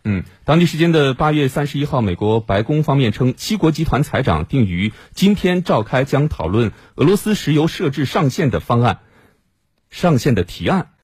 当地时间的8月31号，美国白宫方面称，7国集团财长定于今天召开，将讨论俄罗斯石油设置上限的提案。